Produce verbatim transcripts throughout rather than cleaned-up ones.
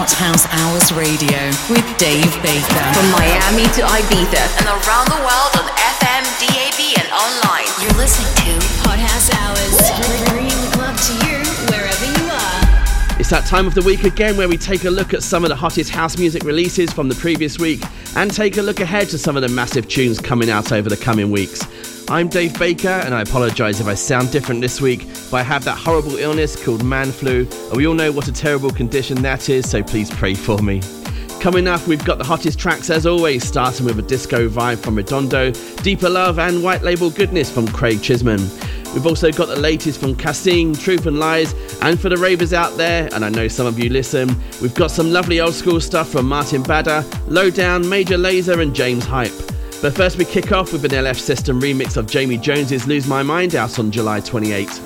Hot House Hours Radio with Dave Baker. From Miami to Ibiza and around the world on F M, D A B and online. You're listening to Hot House Hours, bringing the club to you wherever you are. It's that time of the week again where we take a look at some of the hottest house music releases from the previous week and take a look ahead to some of the massive tunes coming out over the coming weeks. I'm Dave Baker, and I apologise if I sound different this week, but I have that horrible illness called man flu, and we all know what a terrible condition that is, so please pray for me. Coming up, we've got the hottest tracks as always, starting with a disco vibe from Redondo, Deeper Love and White Label Goodness from Craig Chisman. We've also got the latest from Cassim, Truth and Lies, and for the ravers out there, and I know some of you listen, we've got some lovely old school stuff from Martin Badder, Lowdown, Major Lazer and James Hype. But first we kick off with an L F System remix of Jamie Jones's Lose My Mind out on July twenty-eighth.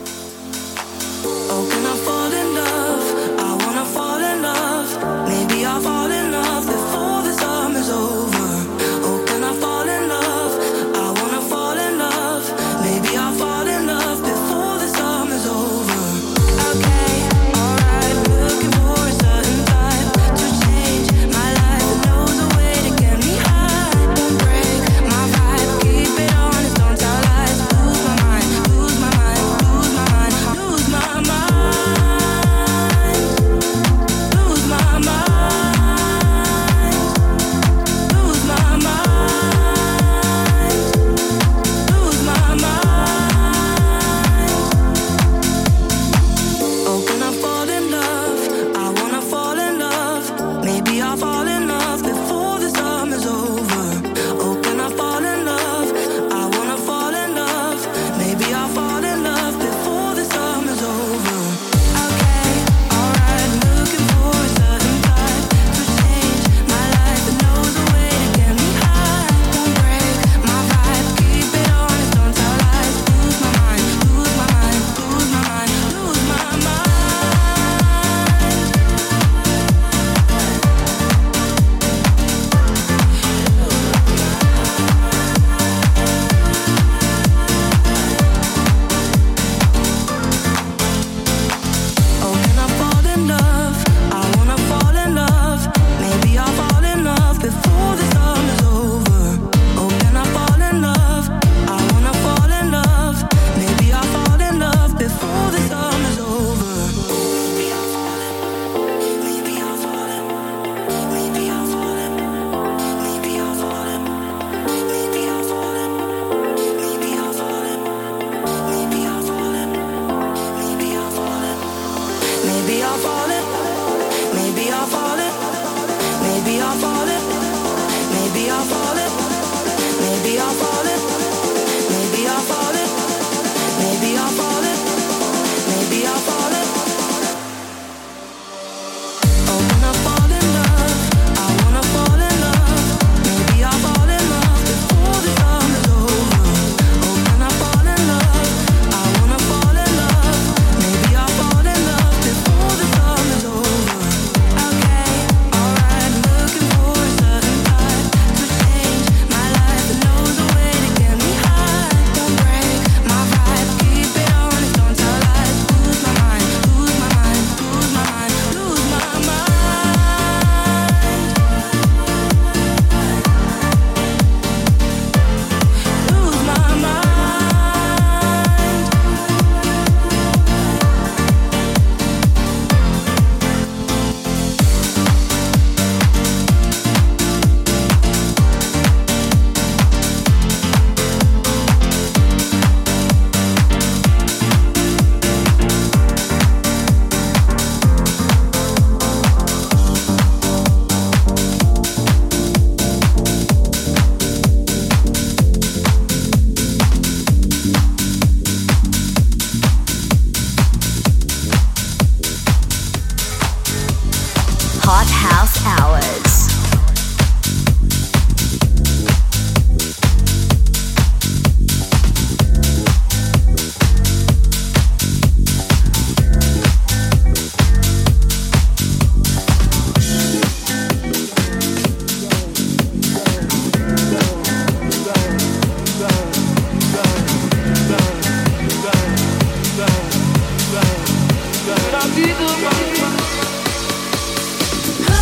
Huh?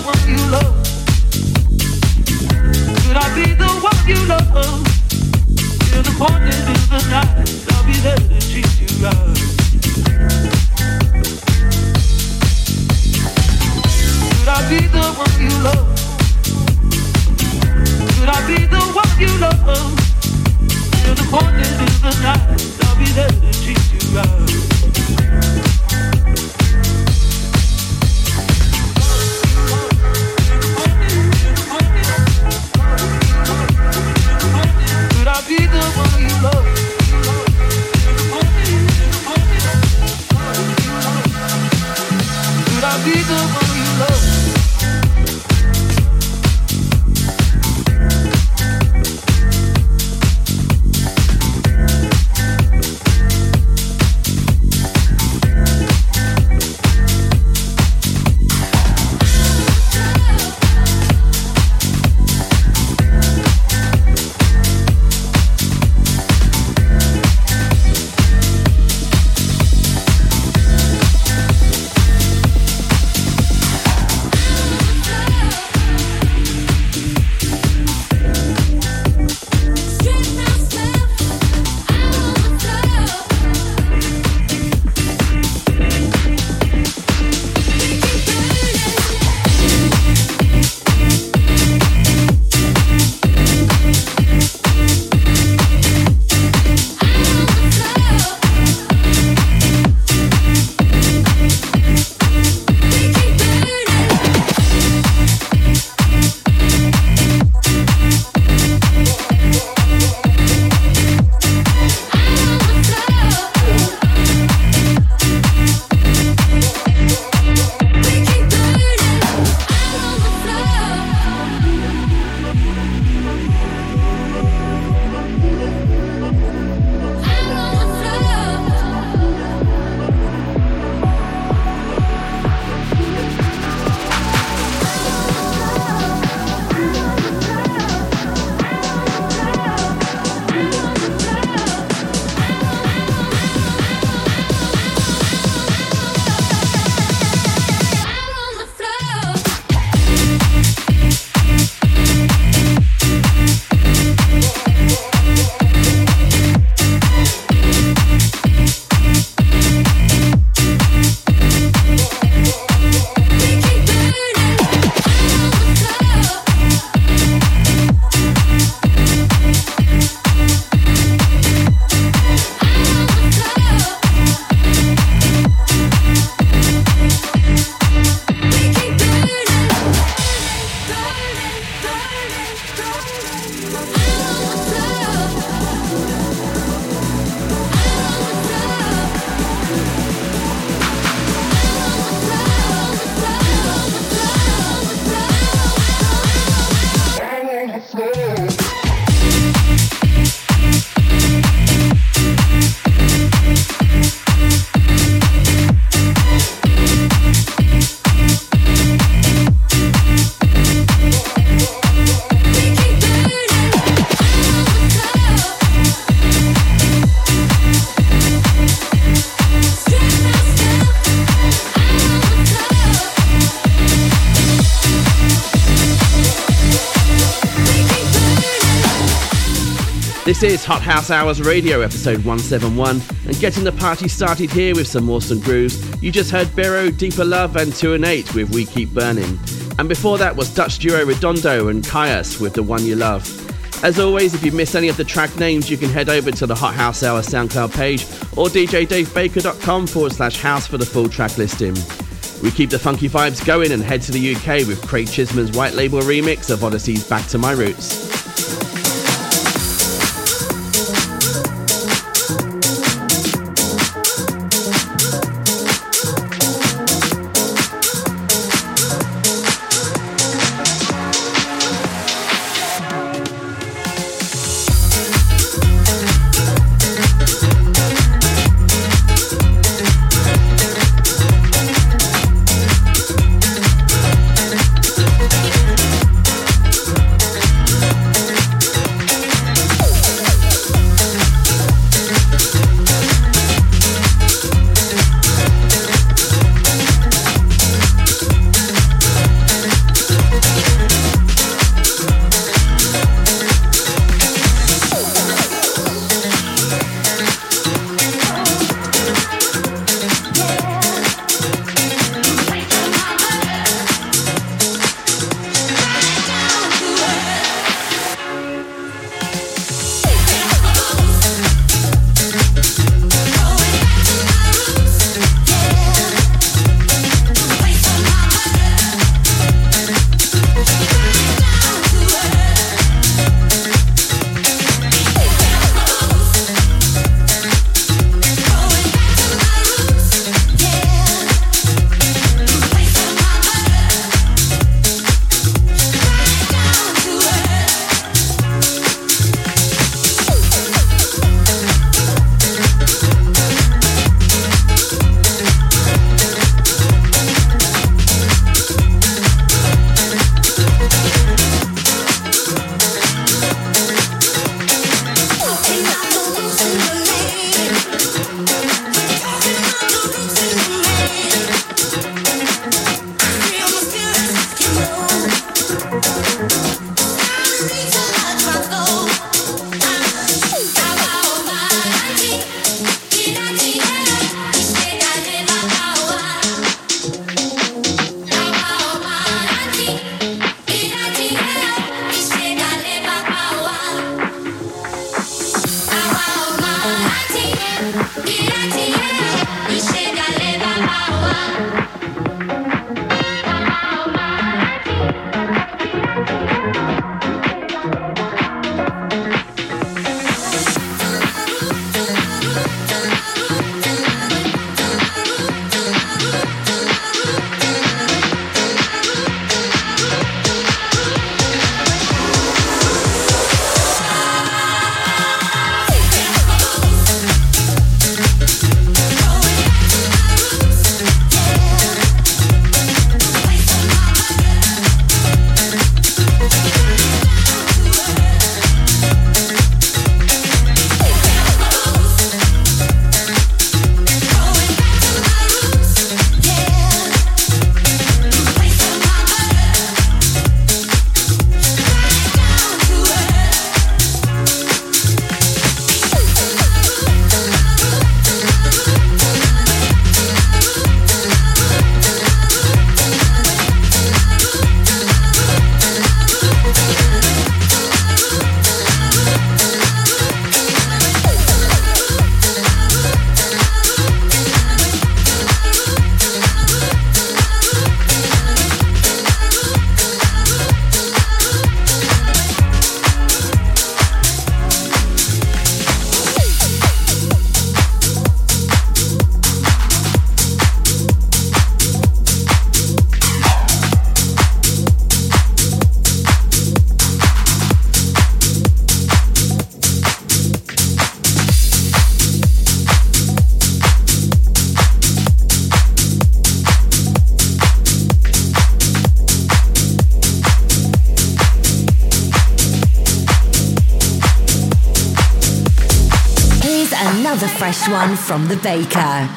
one you love? Could I be the one you love? Till the morning in the night, I'll be there to treat you right. Could I be the one you love? Could I be the one you love? Till the morning in the night, I'll be there to treat you right. Could I be the one you love? Could I be the one you love? This is Hot House Hours Radio, episode one seventy-one, and getting the party started here with some awesome grooves. You just heard Bero, Deeper Love and two and eight with We Keep Burning. And before that was Dutch duo Redondo and Caius with The One You Love. As always, if you missed any of the track names, you can head over to the Hot House Hour SoundCloud page or djdavebakerdotcom forward slash house for the full track listing. We keep the funky vibes going and head to the U K with Craig Chisman's white label remix of Odyssey's Back to My Roots. another fresh one from the Baker.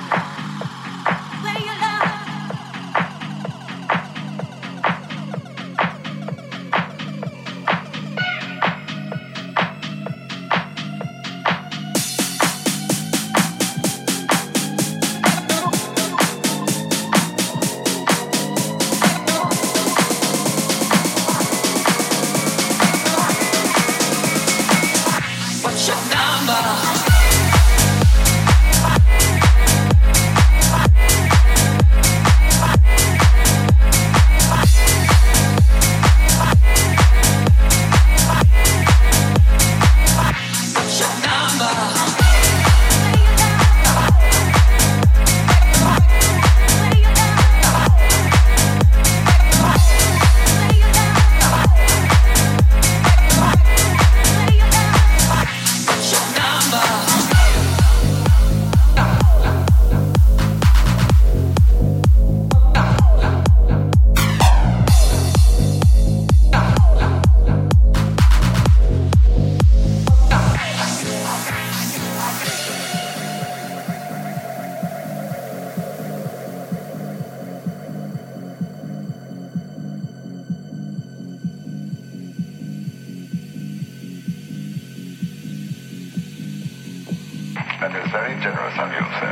That is very generous of you, sir.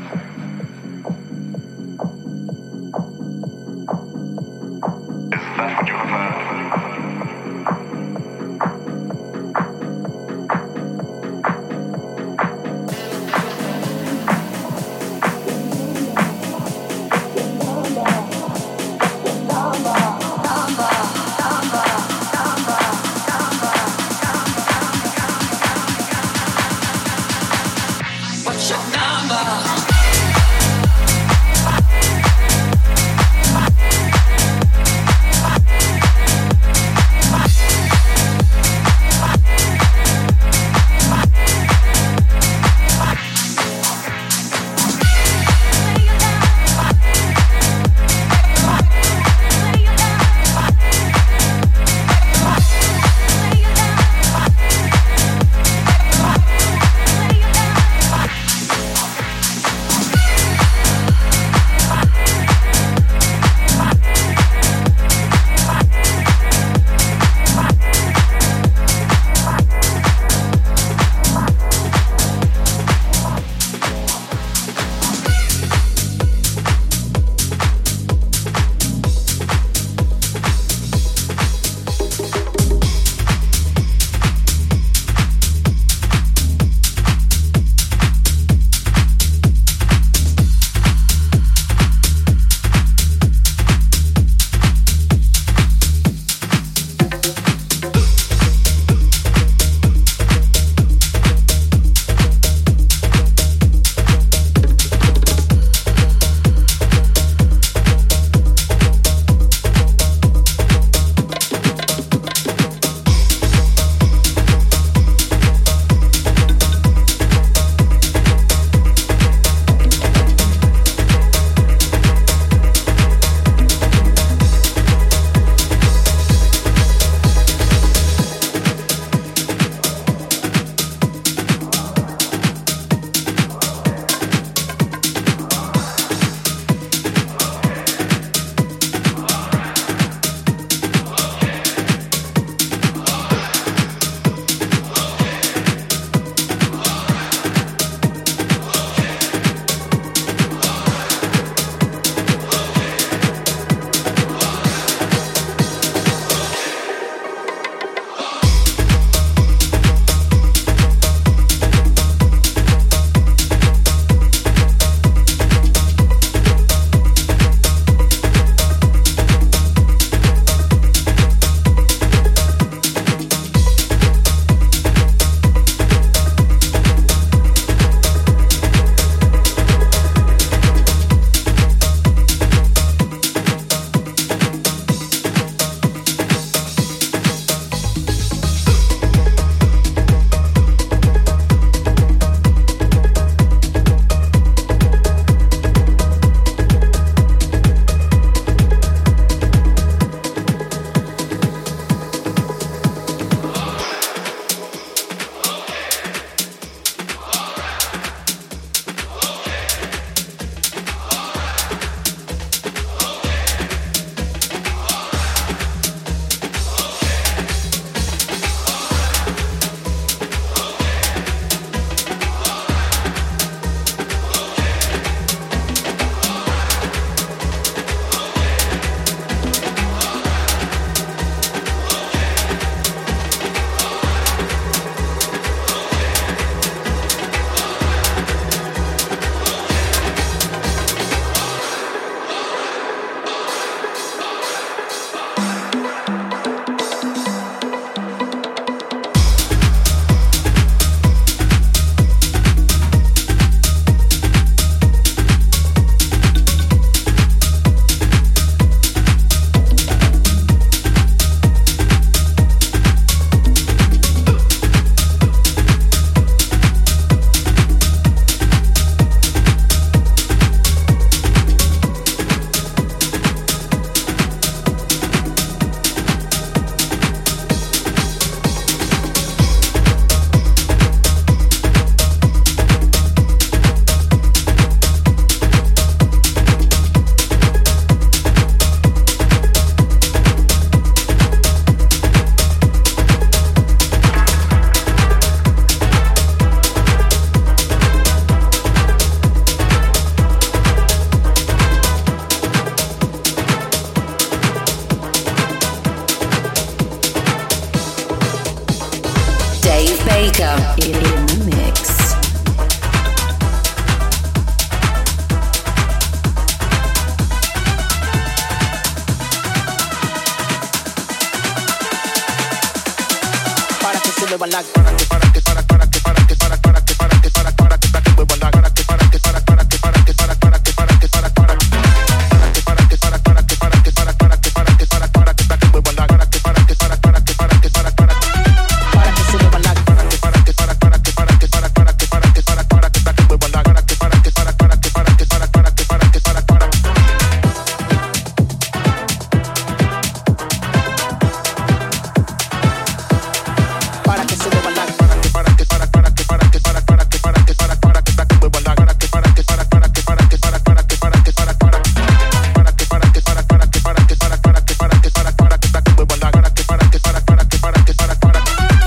Is that what you have heard? What's your number? Dave Baker in, in the mix. Para que se mueva la para que para que para para que para que para para que para que para para que para que mueva la para que para que para para que para que para para que para que para para que para que para para que para que para para que para que para para que para que mueva la para que para que para para que para que para para para que se mueva la para que para que para para que para que para para que para que para para que para que mueva la para que para que para para que para que para para que para que para para para que se mueva la para que para que para para que para que para para que para que para para que para que mueva la para que para que para para que para que para para que para que para para para que para que para para que para que para para que para que para para que para que mueva la para que para que para para que para que para para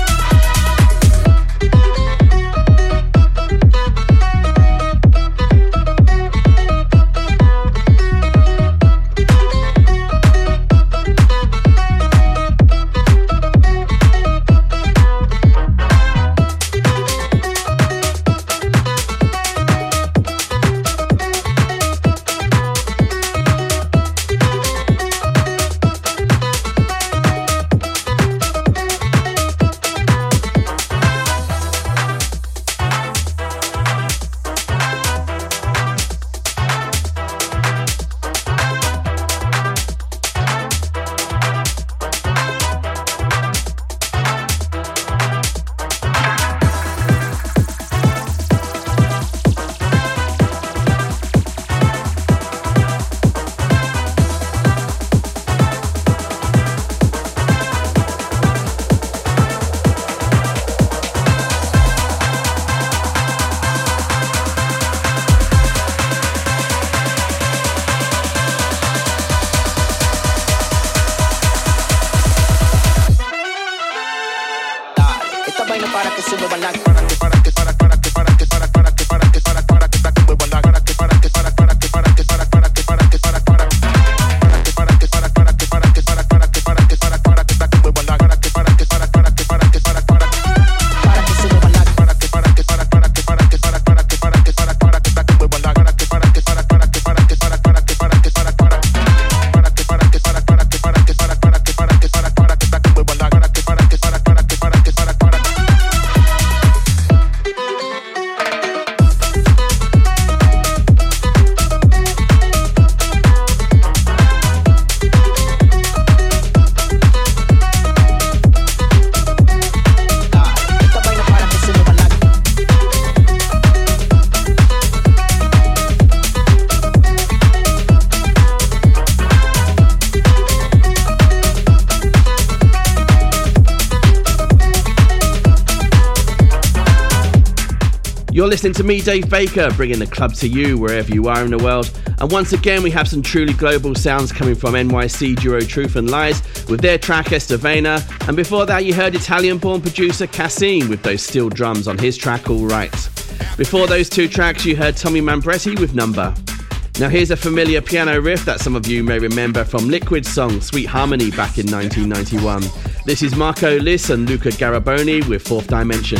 You're listening to me, Dave Baker, bringing the club to you wherever you are in the world. And once again, we have some truly global sounds coming from N Y C duo Truth and Lies with their track Estavena. And before that, you heard Italian-born producer Cassim with those steel drums on his track All Right. Before those two tracks, you heard Tommy Mambretti with Number. Now here's a familiar piano riff that some of you may remember from Liquid's song Sweet Harmony back in nineteen ninety-one. This is Marco Liss and Luca Garaboni with Fourth Dimension.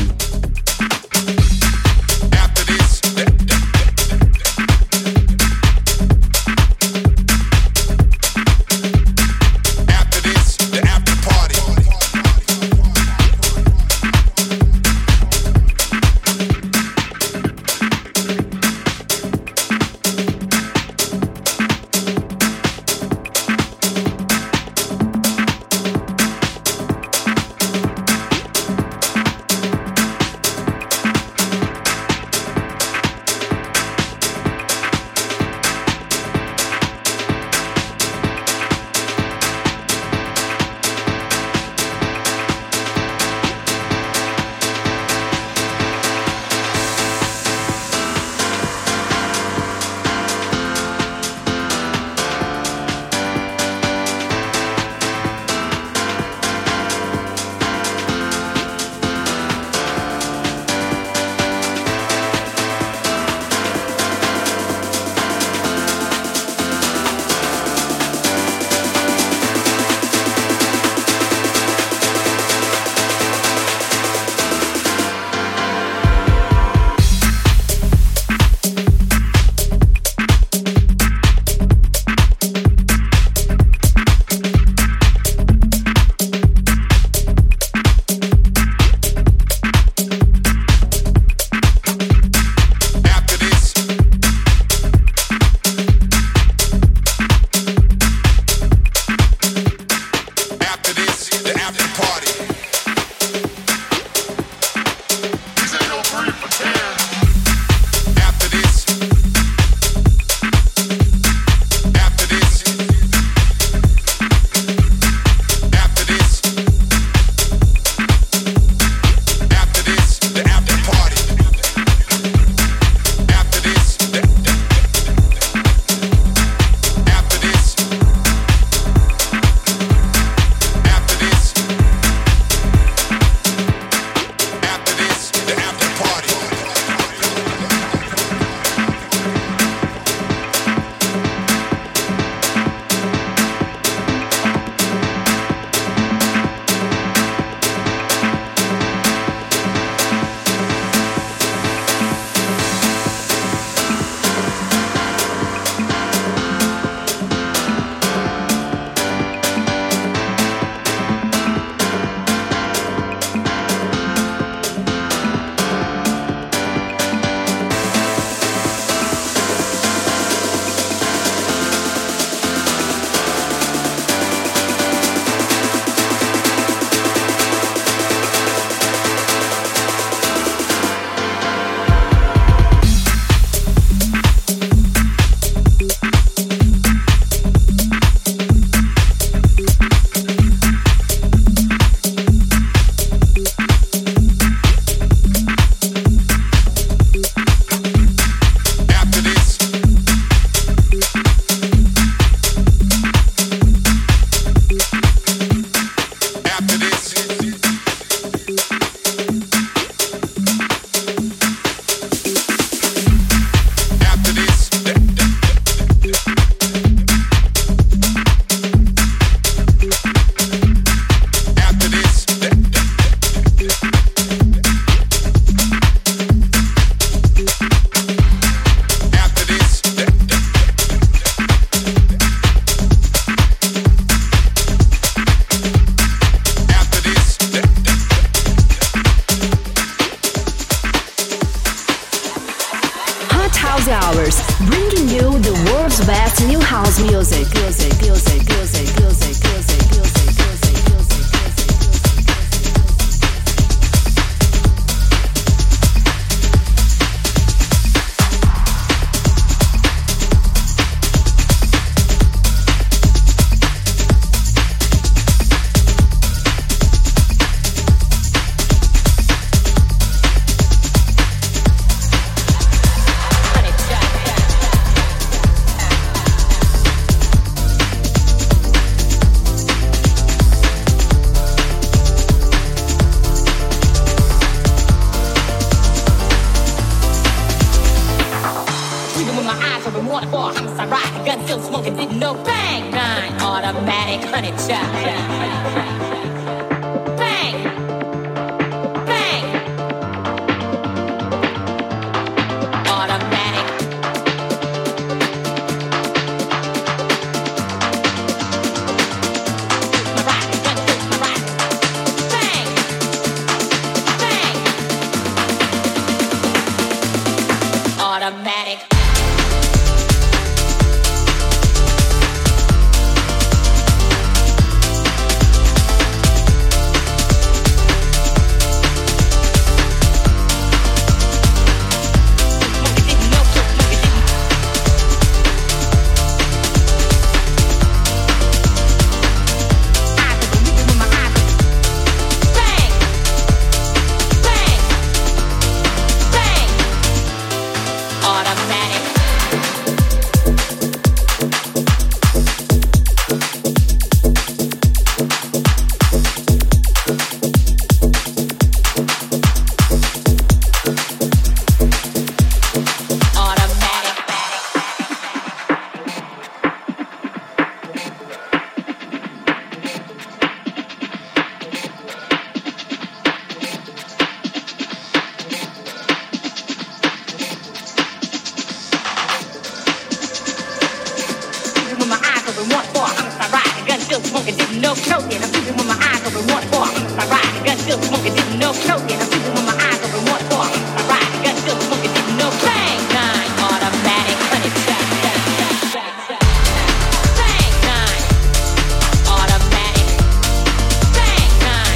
Automatic. Bang nine.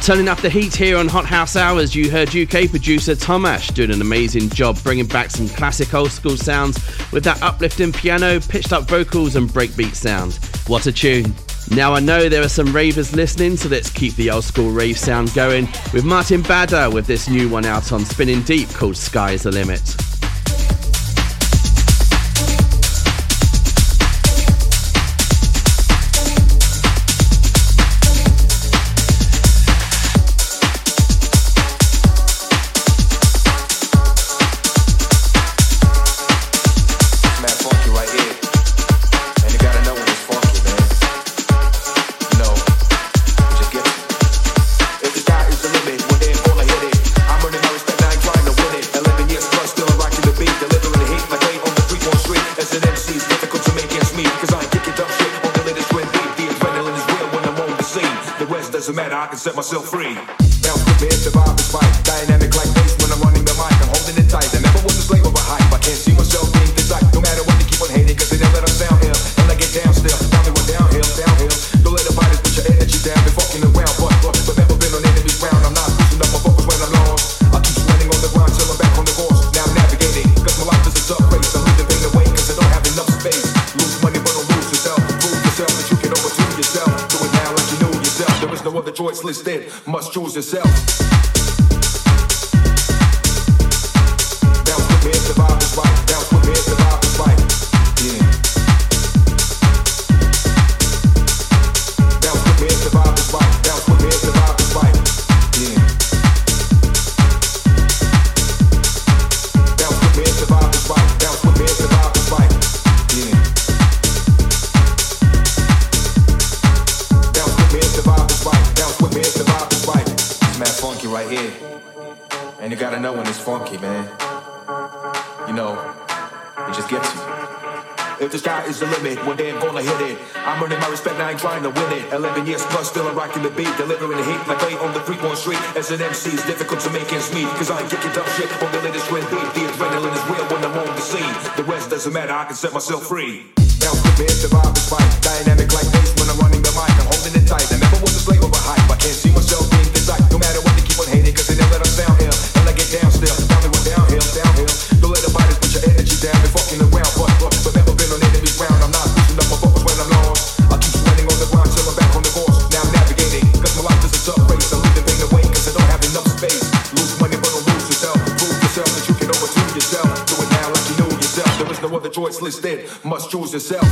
Turning up the heat here on Hot House Hours, you heard U K producer Tom Ash doing an amazing job bringing back some classic old school sounds with that uplifting piano, pitched up vocals and breakbeat sound. What a tune. Now I know there are some ravers listening, so let's keep the old school rave sound going with Martin Bader with this new one out on Spinning Deep called Sky's the Limit. Set myself free. Bounce with me, the vibe is right. Dynamic like bass when I'm running the mic. I'm holding it tight. I never was a slave of a hype. I can't see myself being this like. No matter what they keep on hating, cause they never let us down here. And I get down still. Down they went downhill, downhill. Don't let the fighters put your energy down. Been fucking around, but, but, but never been on enemy's ground. I'm not losing up my focus when I'm lost. I keep sweating on the ground till I'm back on the course. Now I'm navigating, cause my life is a tough race. I'm leaving pain away, cause I don't have enough space. Lose money, but don't lose yourself. Prove yourself that you can overdo yourself. Do it now like you know yourself. There is no other choice listed. Must choose yourself. Bounce with me if the vibe is right. Bounce with me if the vibe is right. Yeah. Bounce with me if the vibe is right. Bounce with me if the vibe is right. Yeah. Bounce with me if the vibe is right. Bounce with me if the vibe is right. Yeah. Bounce with me if the vibe is right. Bounce with me if the vibe is right. It's mad funky right here. And you gotta know when it's funky, man. You know, it just gets you. If the sky is the limit, one day I'm gonna hit it. I'm earning my respect, I ain't trying to win it. Eleven years plus, still I'm rocking the beat. Delivering the heat like late on the three-point street. As an M C, it's difficult to make ends meet. Cause I ain't kicking up shit on the latest trend beat. The adrenaline is real when I'm on the scene. The rest doesn't matter, I can set myself free. Bounce with me if the vibe is right. Dynamic like bass when I'm running the mic. I'm holding it tight. I never was a slave of a hype. I can't see myself being this like. No matter what they keep on hating, cause they never let us down here. And I get down still. Down they went downhill, downhill. Don't let the fighters put your energy down. Been fucking around, but, but, but never been on enemy's ground. I'm not losing up my focus when I'm lost. I keep sweating on the ground till I'm back on the course. Now I'm navigating, cause my life is a tough race. I'm leaving pain away, cause I don't have enough space. Lose money, but don't lose yourself. Prove yourself that you can overdo yourself. Do it now like you know yourself. There is no other choice listed. Must choose yourself.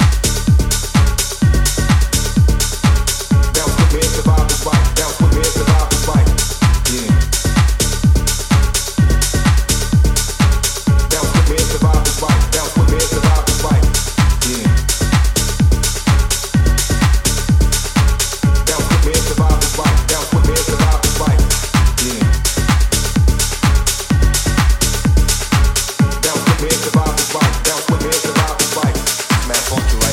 Bounce with me if the vibe is right. Bounce with me if the vibe is right. Yeah. Bounce with me if the vibe is right. Bounce with me if the vibe is right. Yeah. Bounce with me if the vibe is right. Bounce with me if the vibe is right. Yeah. Bounce with me if the vibe is right. Bounce with me if the vibe is right. It's mad funky, right?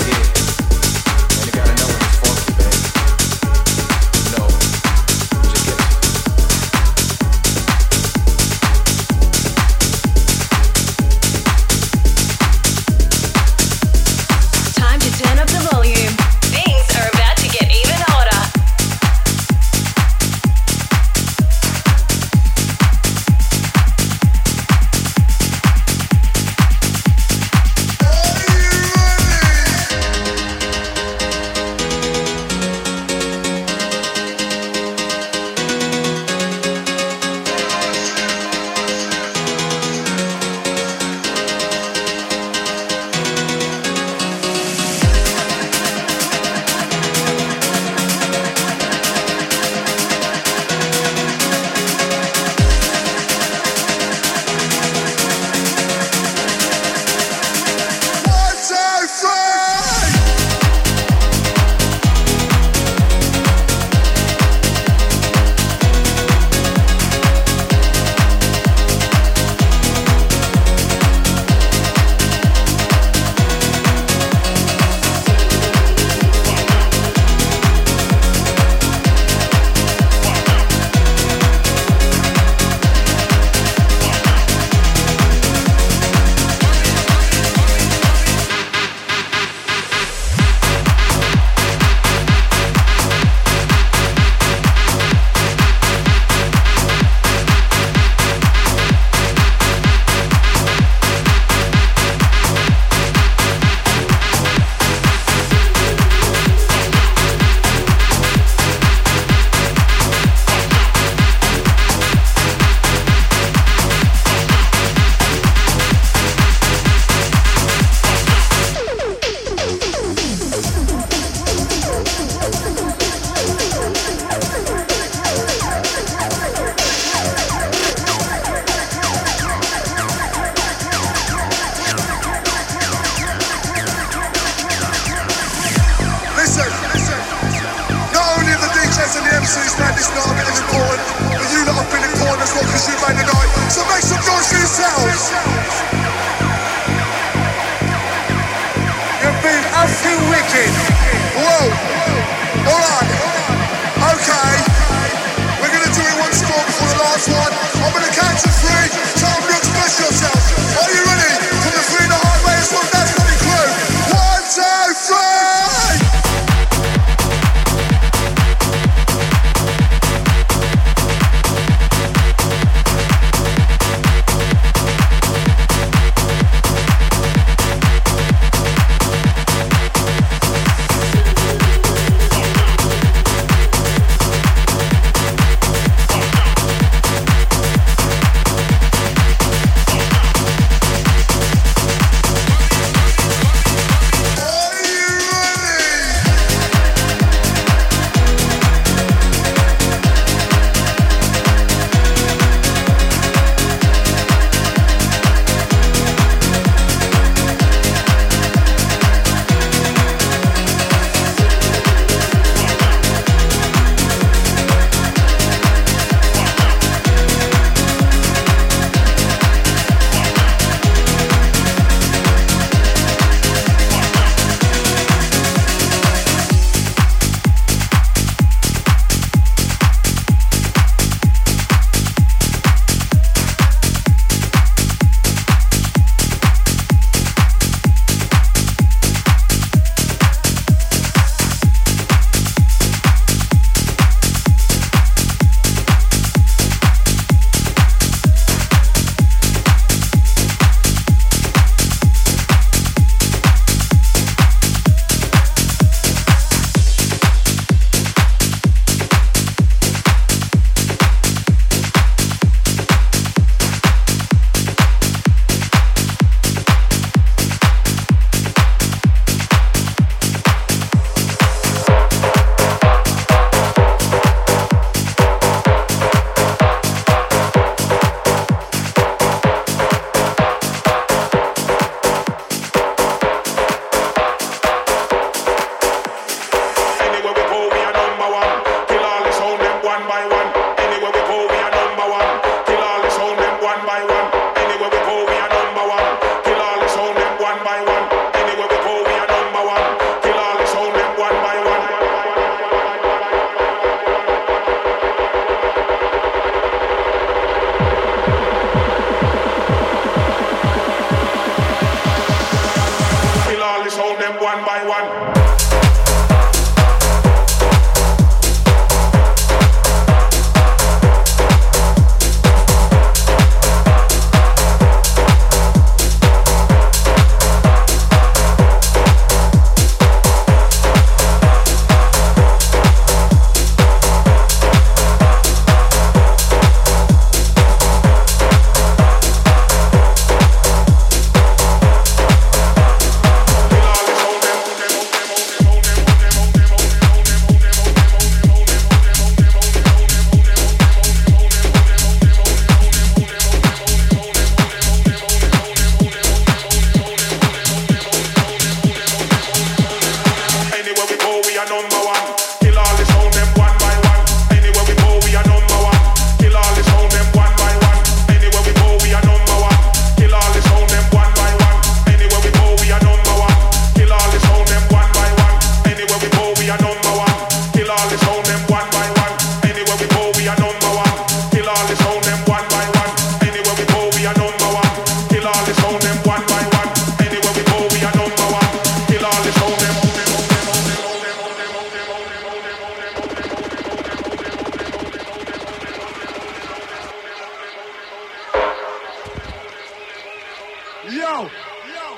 Yo, yo.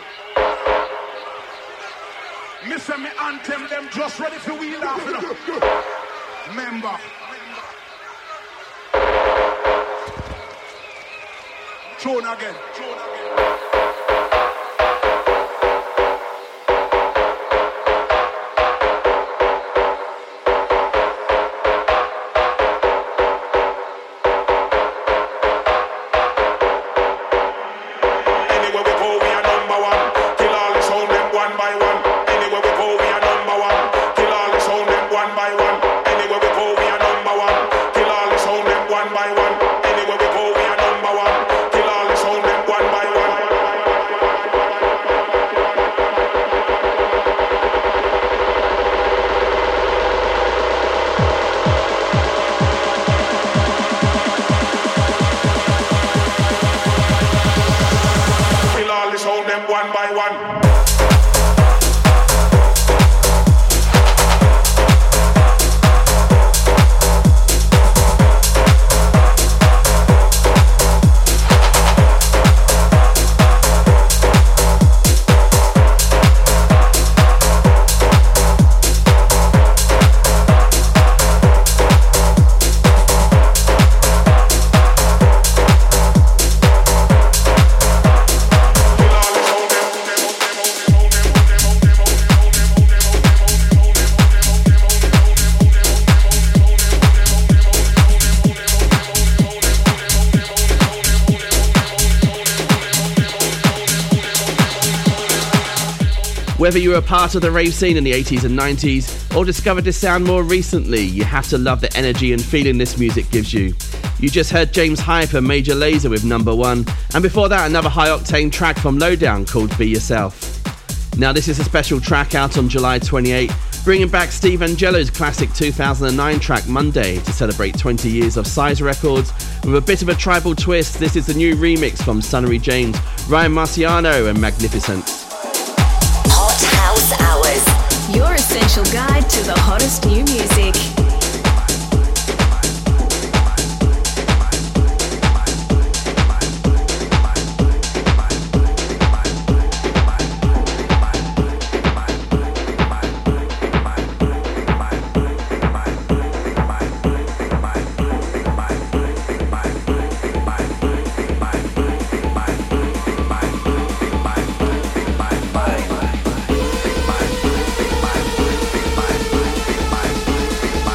Miss me anthem them just ready for wheel off. Member. Tune again. Tune again. Whether you were a part of the rave scene in the eighties and nineties or discovered this sound more recently, you have to love the energy and feeling this music gives you. You just heard James Hype and Major Lazer with Number One, and before that another high-octane track from Lowdown called Be Yourself. Now this is a special track out on July twenty-eighth, bringing back Steve Angello's classic two thousand nine track Monday to celebrate twenty years of Size Records. With a bit of a tribal twist, this is the new remix from Sunnery James, Ryan Marciano and Magnificent. Hours. Your essential guide to the hottest new music. Bye.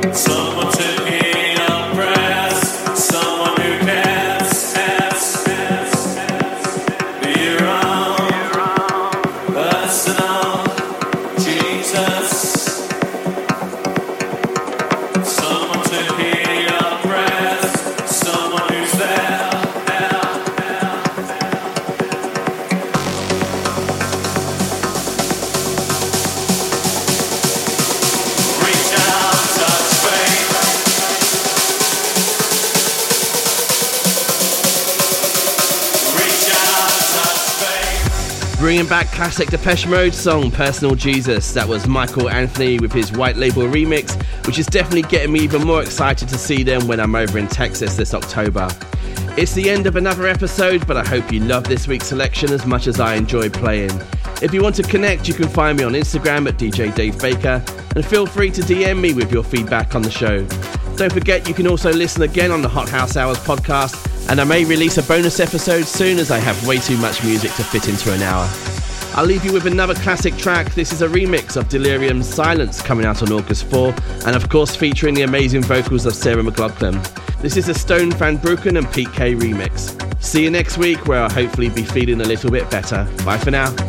Bringing back classic Depeche Mode song Personal Jesus. That was Michael Anthony with his White Label remix, which is definitely getting me even more excited to see them when I'm over in Texas this October. It's the end of another episode, but I hope you love this week's selection as much as I enjoyed playing. If you want to connect, you can find me on Instagram at D J Dave Baker, and feel free to D M me with your feedback on the show. Don't forget you can also listen again on the Hot House Hours podcast, and I may release a bonus episode soon as I have way too much music to fit into an hour. I'll leave you with another classic track. This is a remix of Delirium's Silence coming out on August fourth, and of course featuring the amazing vocals of Sarah McLachlan. This is a Stone Van Broeken and Pete K remix. See you next week where I'll hopefully be feeling a little bit better. Bye for now.